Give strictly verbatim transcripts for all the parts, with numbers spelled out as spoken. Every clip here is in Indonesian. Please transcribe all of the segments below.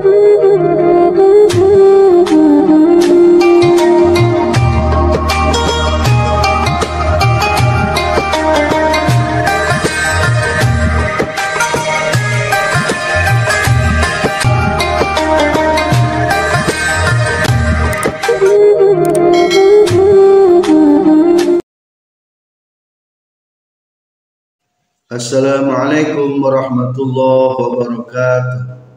Assalamualaikum warahmatullahi wabarakatuh.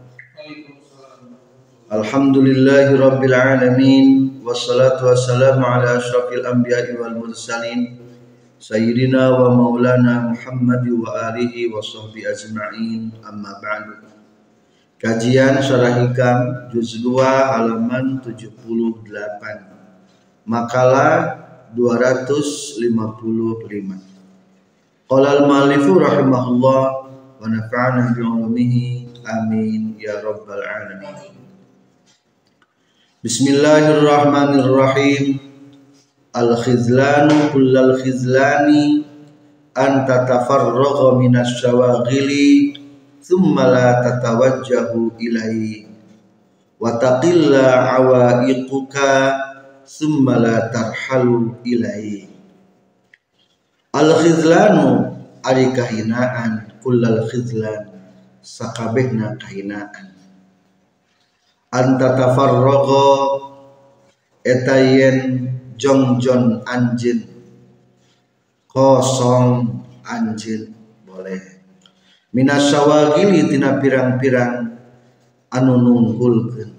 Alhamdulillahi rabbil alamin, wassalatu wassalamu ala asyrafil anbiya'i wal mursalin sayyidina wa maulana Muhammad wa alihi wa sahbihi ajma'in, amma ba'du. Kajian Syarah Hikam juz dua halaman tujuh puluh delapan, makalah dua ratus lima puluh lima. Qala al-mu'allifu rahimahullah wa nafa'ana bi'ulumihi amin ya rabbal alamin. Bismillahirrahmanirrahim. Al-khizlanu kullal khizlani an tatafarragha minas syawaghili thumma la tatawajjahu ilaihi wa taqilla awaiquka thumma la tarhalu ilaihi. Al-khizlanu ari kahinaan, kullal khizlan sakabehna kahinaan. Anta tafarragha etayen jongjon anjeun, kosong anjeun boleh. Minas syawagili tina pirang-pirang anu nunggulkeun,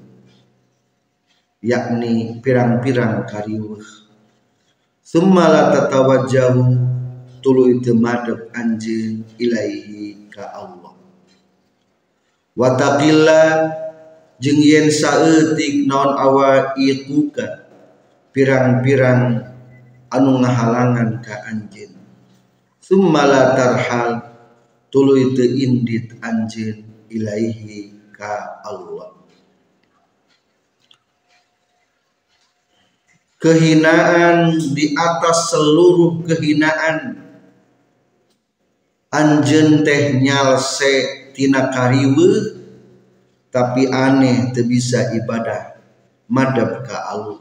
yakni pirang-pirang kariweuh. Summa la tatawajjahu tuluy teu madep anjeun ilaihi ka Allah. Wa taqilla jeung yen saeutik naon awaiquka pirang-pirang anu ngahalangan ka anjeun. Summa la tarhal tuluy teu indit anjeun ilaihi ka Allah. Kehinaan di atas seluruh kehinaan, anjeun teh nyalse tina kariweuh tapi aneh teu bisa ibadah madep ka Allah.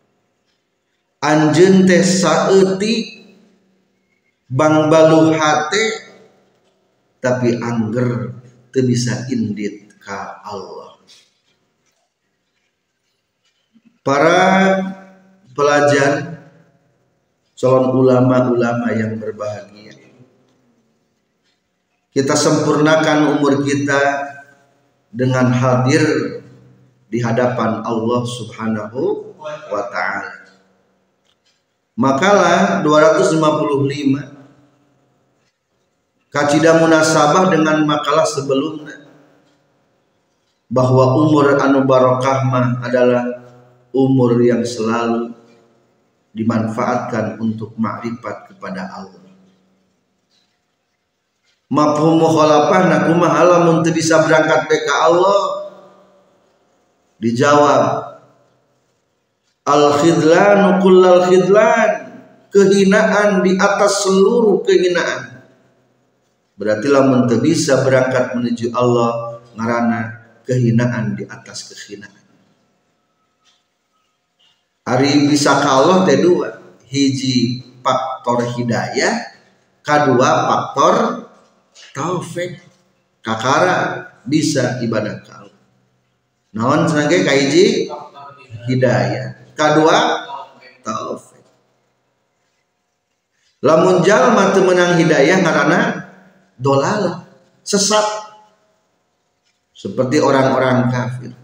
Anjeun teh saeutik bangbaluh hate tapi angger teu bisa indit ka Allah. Para pelajar, calon ulama-ulama yang berbahagia, kita sempurnakan umur kita dengan hadir di hadapan Allah Subhanahu wa ta'ala. Makalah dua ratus lima puluh lima kacida munasabah dengan makalah sebelumnya, bahwa umur anu barokah mah adalah umur yang selalu dimanfaatkan untuk makrifat kepada Allah. Mafhum mukhalafah na kumaha lamun teu bisa berangkat ke Allah? Dijawab, al khidlan kullal khidlan, kehinaan di atas seluruh kehinaan. Berarti lamun teu bisa berangkat menuju Allah ngaranna kehinaan di atas kehinaan. Ari bisa ka Allah teh dua, hiji faktor hidayah, kedua faktor taufik. Kakara bisa ibadah ka Allah. Naon cenah ge ka hiji hidayah, kedua taufik. Lamun jalma teu meunang hidayah ngaranna dolalah, sesat. Seperti orang-orang kafir.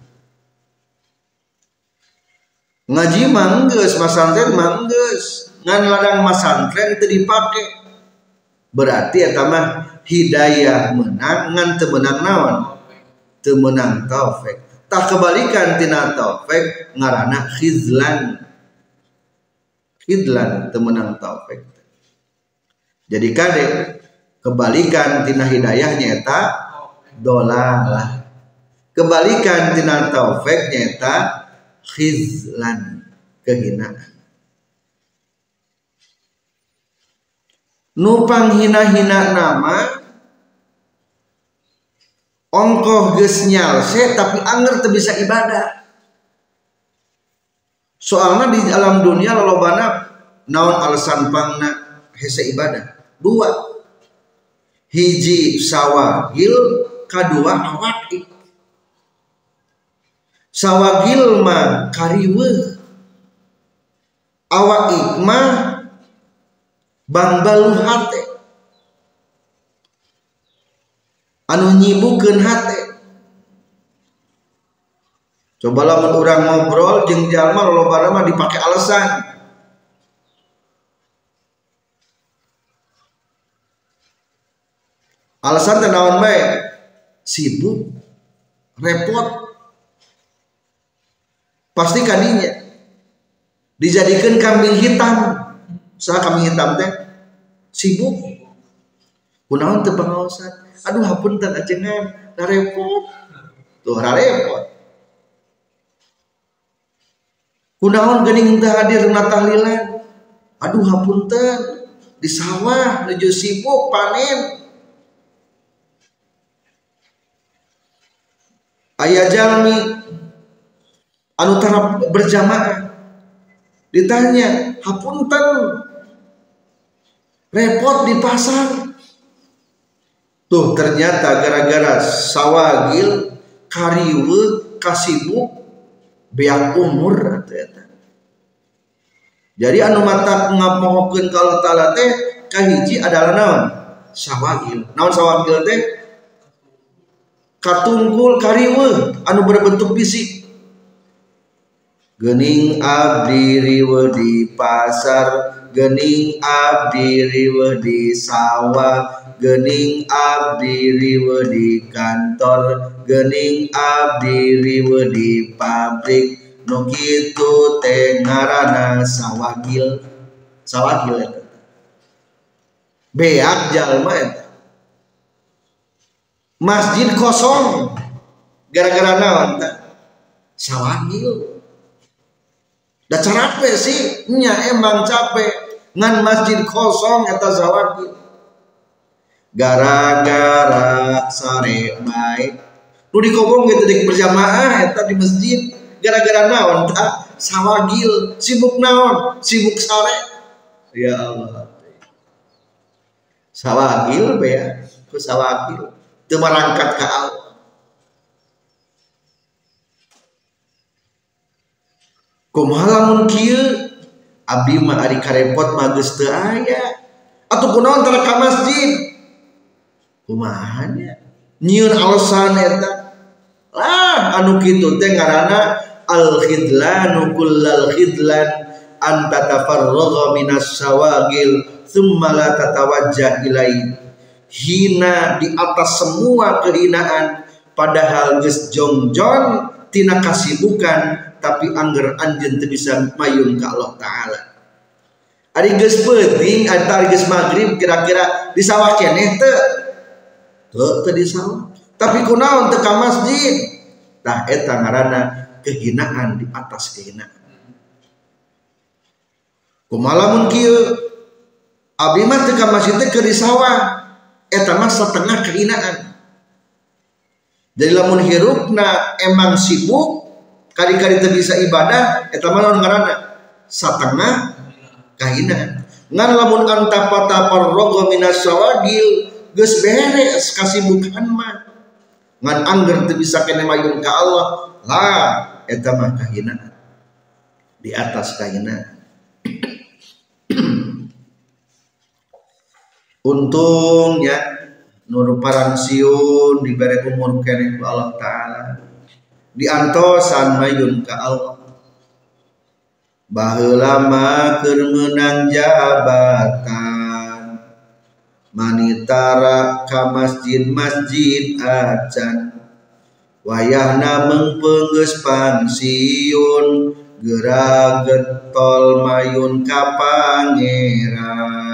Ngaji manggeus, masantren manggeus, ngan ladang masantren teu dipake. Berarti eta mah hidayah menang ngan teu meunang naon? Teu meunang taufik. Tah kebalikan tina taufik ngaranna khizlan. Khizlan teu meunang taufik. Jadi kade kebalikan tina hidayah nyata dolalah. Kebalikan tina taufik nyata khizlan, kehinaan. Nu panghina-hina nama ongkoh geus nyalse tapi anger teu bisa ibadah. Soalnya di alam dunia lolobana naon alasan pangna hese ibadah. Dua, hiji sawagil, kadua awak. Sawagil mah kariweuh, awak mah bangbalu hate anu nyibukeun hate. Coba lamun urang ngobrol jeung jalma lolobana mah dipake alasan. Alasan teh naon bae? Sibuk, repot. Pasti kadinya dijadikan kambing hitam. Saha kambing hitam teh? Sibuk. Kunaon teu pangaosan? Aduh hapunten ajengan, da repot. Tuh ra repot. Kunaon geuning teu hadir na tahlilan? Aduh hapunten, di sawah nuju sibuk panen. Aya jalmi anu tara berjamaah ditanya, hapunten repot di pasar. Tuh ternyata gara-gara sawagil kariweuh kasibuk beak umur atuh eta. Jadi anu mata ngamohokeun ka Allah Taala teh kahiji adalah naon? Sawagil. Naon sawagil teh? Katungkul kariweuh anu berbentuk fisik. Geuning abdi riweuh di pasar, geuning abdi riweuh di sawah, geuning abdi riweuh di kantor, geuning abdi riweuh di pabrik. Nu kitu teh ngaranna sawagil. Sawagil eta beak jalma eta. Masjid kosong gara-gara naon teh? Sawagil. Da capek sih, nya emang capek ngan masjid kosong eta sawagil. Gara-gara sare bae nu dikobong gitu di berjamaah eta di masjid gara-gara naon tah? Sawagil. Sibuk naon? Sibuk sare. Ya Allah. Sawagil bea ku sawagil teu marangkat ka Allah. Kumaha lamun kieu? Abdi mah ari karepot mah geus teu aya. Atuh kunaon tara ka masjid? Kumaha nya? Nyieun alasan eta. Lah anu kitu teh ngaranna al-khidlanu kullal khidlan an tatafarragha minas sawagil thumma la tatawajjah ilai. Hina di atas semua kehinaan padahal geus jongjon tina kasibukan tapi angger anjeun teu bisa mayun ka Allah Taala. Ari geus peuting eta ari geus magrib kira-kira di sawah keneh teu? Teu teu di sawah. Tapi kunaon teu ka masjid? Tah eta ngaranna kehinaan di atas kehinaan. Kumaha lamun kieu? Abdi mah teu ka masjid teh keur di sawah. Eta mah setengah kehinaan. Jadi lamun hirupna emang sibuk kali-kali teu bisa ibadah eta mah naon ngaranna? Satengah kahinaan. Ngan lamun anta pataparrogo minas sawagil geus beres kasibukan mah. Ngan angger teu bisa keneh mayun ka Allah. Lah eta mah kahinaan. Di atas kahinaan. Untungnya nur paransiun diberi umur keneh ku Allah Taala diantosan mayun ka Allah baheula mah keur meunang jabatan manitara ka masjid-masjid acan wayahna meungpeung geus pansiun geura getol mayun ka Pangeran.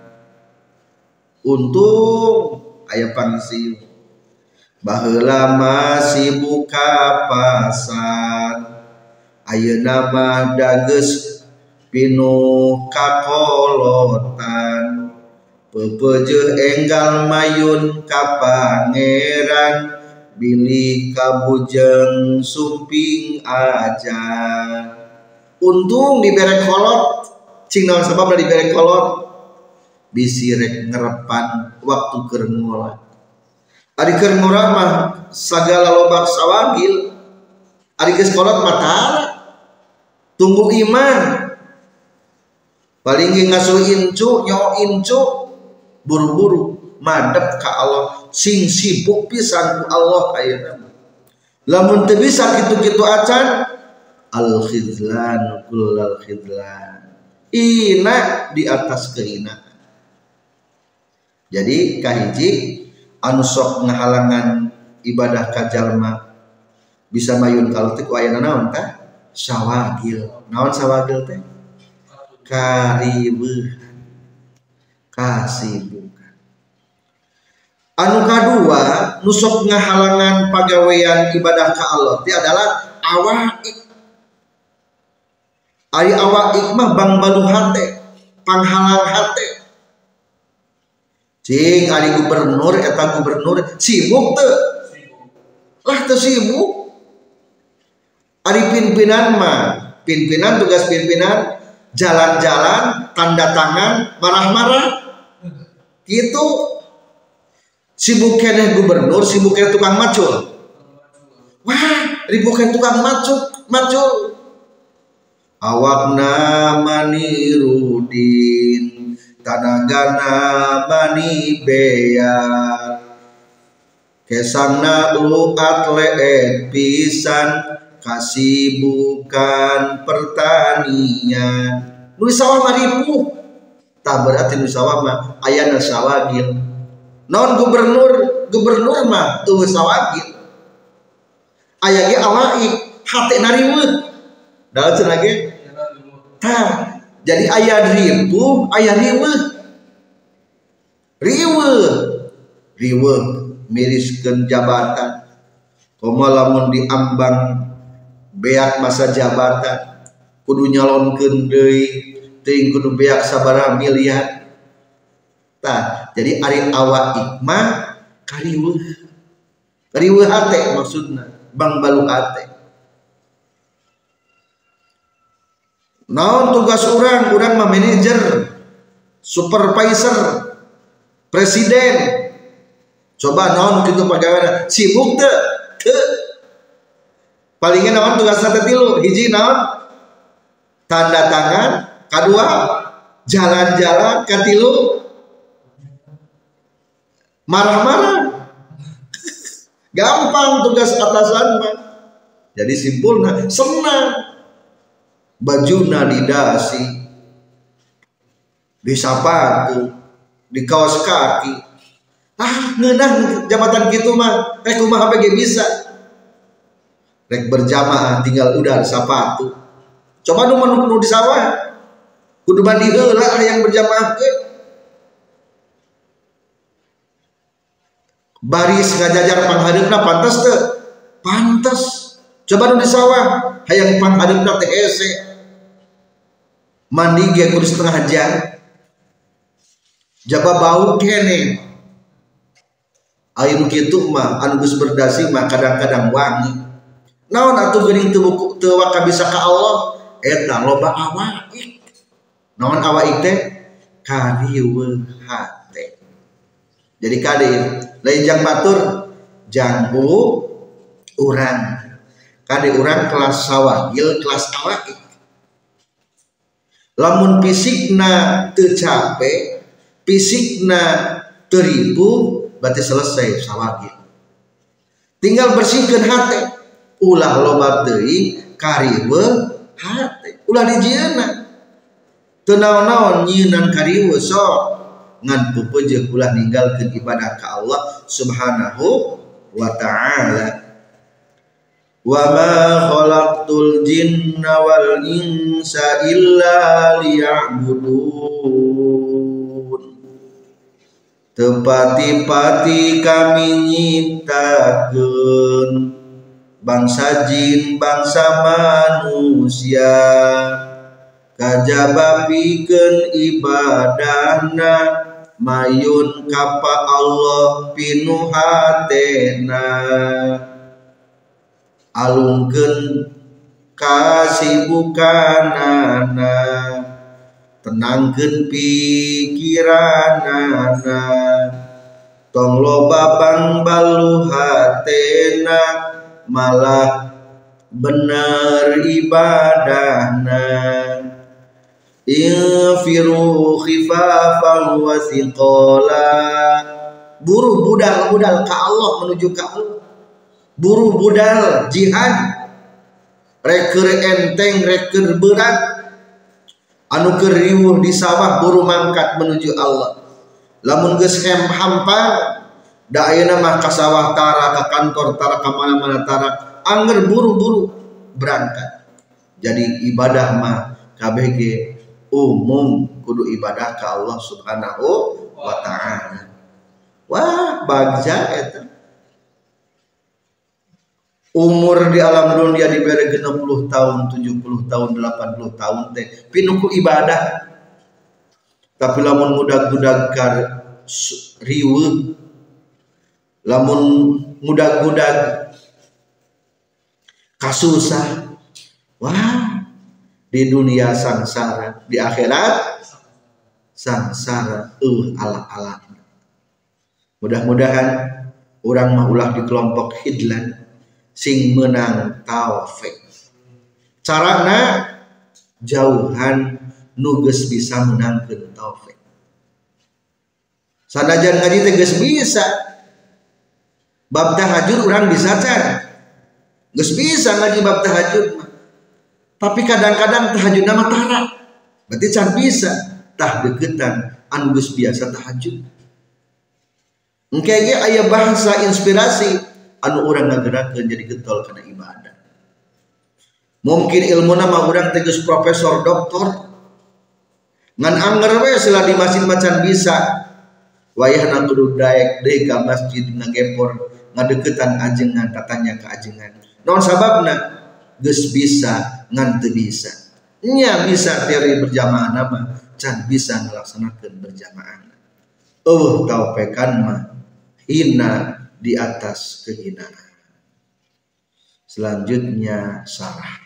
Untung aya pangsiun baheula masih buka pasar ayeuna mah da geus pinuh kakolotan peupeujeuh enggal mayun ka Pangeran bilih kabujeng sumping aja. Untung dibere kolot, cing naon sabab da dibere kolot bisi rek ngerepan waktu keur ngolah. Ari keur ngolah mah sagala loba sawagil, ari geus kolot mah tara. Tunggu iman. Paling ge ngasuh incu, nyawa incu, buru-buru madep ka Allah, sing sibuk pisan ku Allah ayeuna. Lamun teu bisa kitu-kitu acan, al khizlan kullal khizlan. Ina di atas kehinaan. Jadi kahiji anu sok ngahalangan ibadah ka jalma bisa mayun kalau teh ku aya naon tah? Sawagil. Naon sawagil teh? Kariweuhan, kasibukan. Anu kadua nu sok ngahalangan pagawean ibadah ka Allah teh adalah awaik. Ari awaik mah bangbalu hate, panghalang hate. Cing ari gubernur eta gubernur sibuk teu? Lah teu sibuk. Ari pimpinan mah, pimpinan tugas pimpinan jalan-jalan, tanda tangan, marah-marah. Gitu. Sibuk keneh gubernur, sibuk keneh tukang macul. Wah, ribuk keneh tukang macul, macul. Awakna manirudin, tanagana mani bear. Kesangna lu atlet pisan, kasibukan pertanian. Nu sawah mah ripuh. Tah berarti nu sawah mah aya na sawagil. Naon gubernur, gubernur mah teu sawagil. Aya ge awaik, hate na riweuh. Da cenah ge. Tah, jadi aya ripuh, aya riweuh. Riweuh. Riweuh miriskeun jabatan. Komo lamun diambang beak masa jabatan kudu nyalonkeun deui teuing kudu beak sabaraha miliar. Tah, jadi ari awaik mah kariweuh. Kariweuh hate maksudna, bangbalu hate. Naon tugas urang? Urang mah manajer, supervisor, presiden. Coba naon kitu pagaweana? Sibuk teu? Teu. Palingnya naon tugasna teh tilu, hiji naon? Tanda tangan, kadua jalan-jalan, katilu marah-marah. Gampang tugas atasan mah. Jadi simpulna senang. Bajuna didasi, di sapatu, di kaos kaki. Ah, ngeunah jabatan kitu mah, rek kumaha ge bisa. Rek berjamaah tinggal udar sapatu. Coba nu nu di sawah. Kudu mandi heula yang berjamaah ge. Baris ngajajar panghadeupna pantes teu? Pantes. Coba nu di sawah hayang panghadeupna teh hese. Mandi ge kudu setengah jam. Jaba bau keneh. Anu kitu mah anu geus berdasi mah kadang-kadang wangi. Naon atuh geuning teu teu waka bisa ka Allah? Eta loba awaik. Naon awaik teh? Kariweuh hate. Jadi kade lain jang batur jangku urang. Kade urang kelas sawagil, kelas awaik. Lamun fisikna teu capek, fisikna teu ripuh, berarti selesai sawagil. Tinggal bersihkeun hate. Ulah loba teuing kariweuh hate. Ulah dijieunna. Teu naon-naon nyieunnan kariweuh sok ngan pupeujeuh ulah ninggalkeun ibadah ka Allah Subhanahu wa ta'ala. Wa ma khalaqtul jinna wal insa illa liya'budun. Tepati-pati kami nyiptakeun bangsa jin bangsa manusia kajaba pikeun ibadahna mayun kapa Allah pinuhatena alungkeun kasibukanana tenangkeun pikiranana tong loba bang balu hatena malah bener ibadahna infiru khifafan wa thiqala buru budal-budal ka Allah menuju ka Allah buru budal jihad reker enteng reker berat anu keur riweuh di sawah buru mangkat menuju Allah lamun geus hampa da ayeuna mah ka sawah tara ka kantor tara ka mana-mana tara angger buru-buru berangkat. Jadi ibadah mah kabeh ge umum kudu ibadah ka Allah Subhanahu wa taala. Wah bagja eta umur di alam dunia dibere genep puluh tahun, tujuh puluh tahun, delapan puluh tahun teh pinuh ku ibadah. Tapi lamun mudag-mudag kar riweuh, lamun mudag-mudag kasusah, wah di dunia sangsara, di akhirat sangsara, uh ala-ala. Mudah-mudahan orang mah ulah di kelompok hidlan sing menang taufik. Carana jauhan nuges bisa menangkeun taufik. Sanajan ngaji teh geus bisa. Bab tahajud urang bisa can. Geus bisa ngaji bab tahajud mah. Tapi kadang-kadang tahajudna mah tara. Berarti can bisa tah deukeutan anu geus biasa tahajud. Engke ge aya bahasa inspirasi anu urang ngagerakeun jadi getol kana ibadah. Mungkin ilmuna mah urang teh geus profesor doktor. Ngan anger we sila di masjid macan bisa wayahna kudu daek deui ka masjid ngagepor ngadeuketan ajengan tatanya ka ajengan naon sababna geus bisa ngan teu bisa nya bisa teori berjamaah mah can bisa ngalaksanakeun berjamaah eueuh taupekan mah hina di atas kehinaan. Selanjutnya sarah.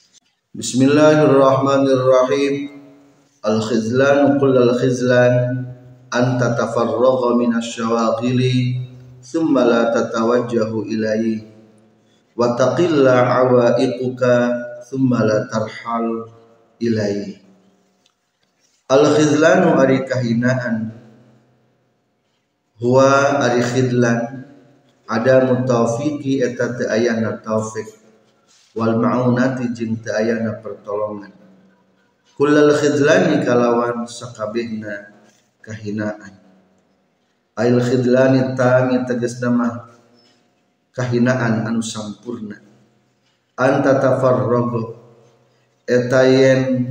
Bismillahirrahmanirrahim. Al-khizlan kullal khizlan an tatafarragha minasy syawaghili thumma la tatawajjahu ilaihi wa taqilla awaiquka thumma la tarhal ilaihi. Al-khizlanu ari kahinaan huwa ari khidlan ada mutawfiqi eta teu ayana taufik wal ma'unati jeung teu ayana pertolongan. Kullal khidlani kalawan sakabehna kahinaan. Ail khidlani tami tegasna mah kahinaan anu sampurna. Anta tafarrago eta yen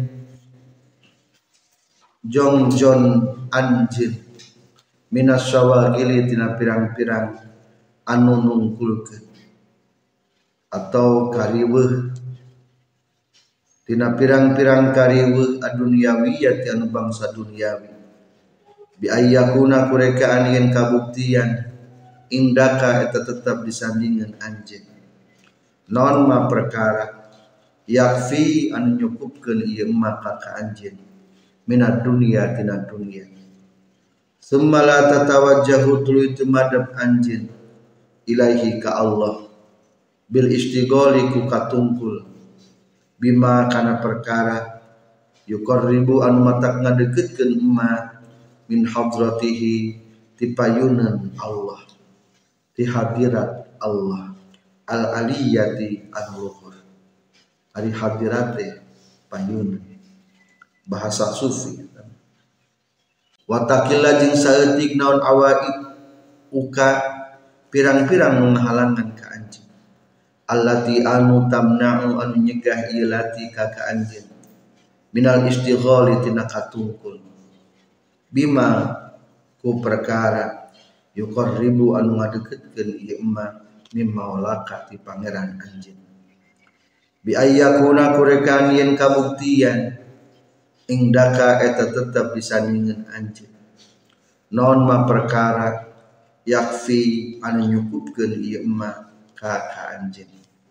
jongjon anjeun minas syawagili tina pirang-pirang anu nungkulkeun atau kariweuh tina pirang-pirang kariweuh adunyawi anu bangsa duniawi bi ayyakuna kurekaan yen kabuktian indaka eta tetap disandingan anjeun non ma perkara yakfi anu nyukupkeun ieu maka ka anjeun minad dunya tina dunya summa la tatawajjahu tuluy teu madep anjeun ilaihi ka Allah bil istighali ku katungkul bima kana perkara yuqarribu anu matak ngadeukeutkeun emma min hadratihi ti payunan Allah ti hadirat Allah al aliyati al-luhur ari hadirate payunan bahasa sufi wa taqilla jeung saeutik naon awaid uka pirang-pirang menghalangan ka anjeun allati anu tamna'u anu nyegah ieu lati ka ka anjeun minal istighali tina katungkul bima ku perkara yuqarribu anu ngadeukeutkeun ieu emma mimma walaka ti pangeran anjeun bi ayyakuna kurekan yen kabuktian indaka eta tetep disandingeun anjeun non ma perkara yakfi anu nyukupkeun ieu emma ka ka anjeun.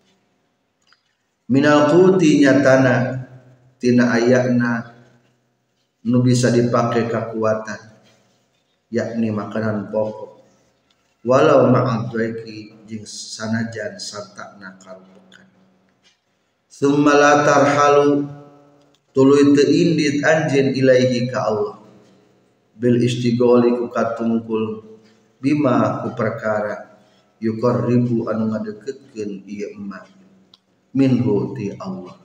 Minal quti nyatana tina ayana nu bisa dipake kekuatan, yakni makanan pokok, walau ma'adweki jeung sanajan sartana karupekan. Summa la tarhalu tuluy teu indit anjeun ilaihi ka Allah bil istigholi ku katungkul bima ku perkara yuqarribu anu ngadeukeutkeun ieu emma minhu ti Allah.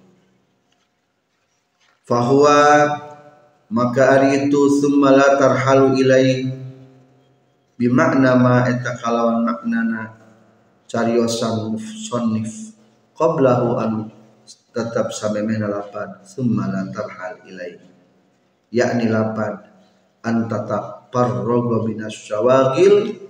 Fahuwa maka ari itu summa la tarhalu ilai bimakna ma eta kalawan maknana cariosan musannif qablahu an tetap samemehna lapad summa la tarhal ilai, yakni lapad an tatap parrogo minas syawagil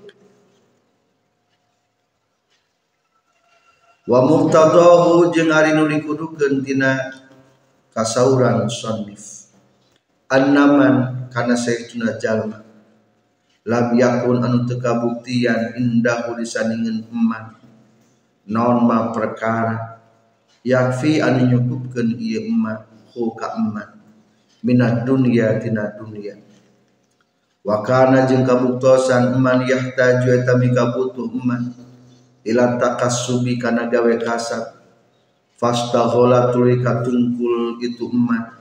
wa muqtadahu jeung ari nu dikudukeun tina kasauran musannif annaman kana saestuna jalma lam yakun anu teu kabuktian indahu disandingeun eman naon ma perkara yakfi anu nyukupkeun ieu emma hu ka eman minad dunya tina dunya wa kana jeung kabuktosan eman yahtaju eta mika butuh eman ila takassubi kana gawe kasab fastaghala tuluy katungkul itu eman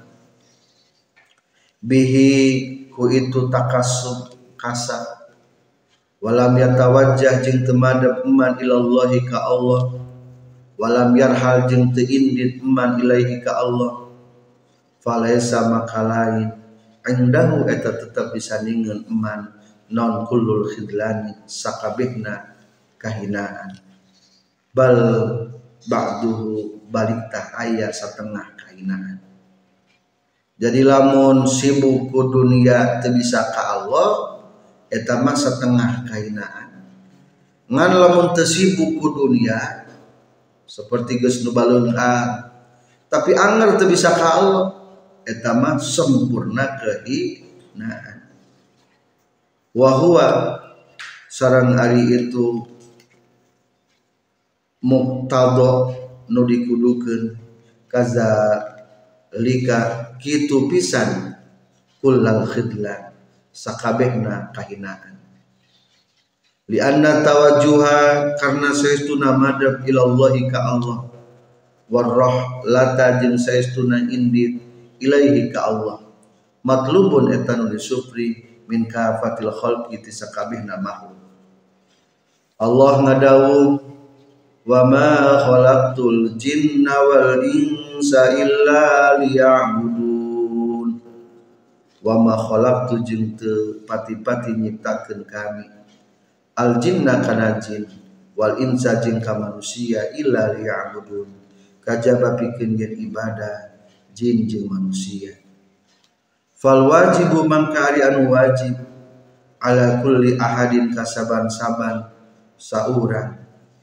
bihi ku itu takassub kasab walam yatawajjah jeung teu madep eman ilallahi ka Allah walam yarhal jeung teu indit eman ilaihi ka Allah falaisa maka lain indahu eta tetep disandingeun eman non kullul khidlani sakabehna kahinaan bal ba'duhu baliktah aya satengah kahinaan. Jadi lamun sibuk ku dunia teu bisa ka Allah eta mah setengah kahinaan. Ngan lamun teu sibuk ku dunia seperti geus nu baleungkan tapi anger teu bisa ka Allah eta mah sempurna kahinaan. Wa huwa sareng ari itu muqtada nu dikudukeun kaza lika kitu pisan kullal khidlan sakabehna kahinaan li anna tawajjuha karna saestuna madhab ilallahi ka Allah warrah lata jeung saestuna indit ilaihi ka Allah matlubun eta nu disupri min kafatil khalqi ti sakabehna makhluk. Allah ngadawuh wa ma khalaqtul jinna wal insa illa liya'budun wa ma khalaqtu jeung teu pati-pati nyiptakeun kami al jinna kana jin wal insa jeung ka manusia illa liya'budun kajaba pikeun yen ibadah jin jeung manusia. Fal wajibu mangka ari anu wajib ala kulli ahadin kasaban-saban saurang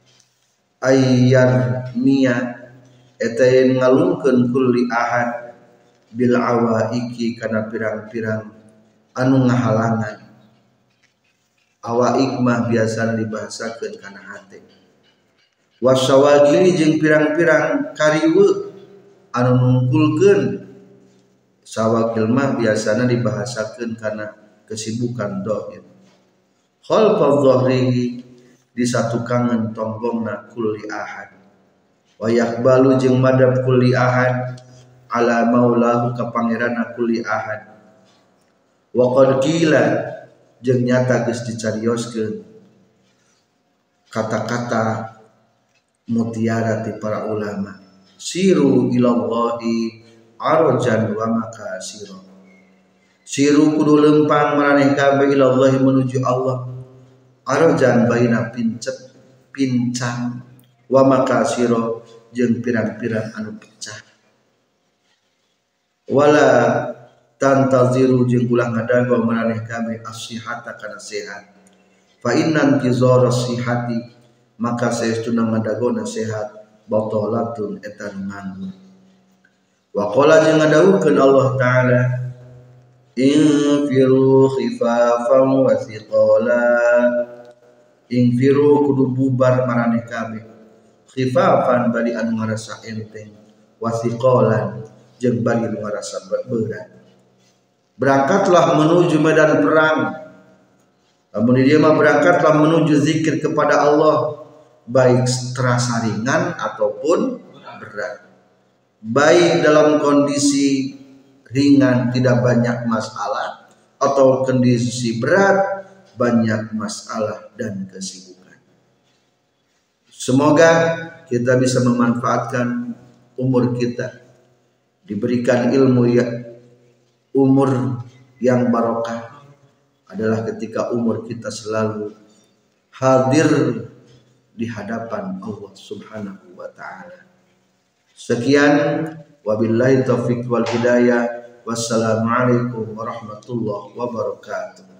ayyar mia eta yen ngalungkeun kulli ahad bil awaiki kana pirang-pirang anu ngahalangan. Awaik mah biasa dibahasakeun kana hate. Wasawagili jeung pirang-pirang kariweu anu nungkulkeun. Sawagil mah biasana dibahasakeun kana kesibukan dohir. Khalfa dhahrihi di satu kangen tonggongna kulli ahad wa yaqbalu jeung madhab kulli ahad ala maulahu ka pangeranna kulli ahad wa qad qila jeung nyata geus dicarioskeun kata-kata mutiara ti para ulama siru ilallahi arjan wa makasira siru kudu lempang maraneh kabeh ilallahi menuju Allah arjan baina pincet pincang wa makasiro jeung pirang-pirang anu pecah wala tantaziru jeung ulah ngadago maraneh kabeh as-sihata kana sehat fa innan kizara sihati maka saestuna ngadagona sehat batalatun eta nganggur wa qala jeung ngadawukeun Allah taala Infiru khifafan wa thiqala. Infiru kudu bubar maraneh kabeh. Khifafan bari anu ngarasa enteng, wa thiqalan jeung bari anu ngarasa berat. Berangkatlah menuju medan perang. Lamun dia mah berangkatlah menuju zikir kepada Allah, baik terasa ringan ataupun berat. Baik dalam kondisi ringan tidak banyak masalah, atau kondisi berat banyak masalah dan kesibukan. Semoga kita bisa memanfaatkan umur kita, diberikan ilmu ya, umur yang barokah adalah ketika umur kita selalu hadir di hadapan Allah Subhanahu wa taala. Sekian, wabillahi taufiq wal hidayah. Wassalamualaikum warahmatullahi wabarakatuh.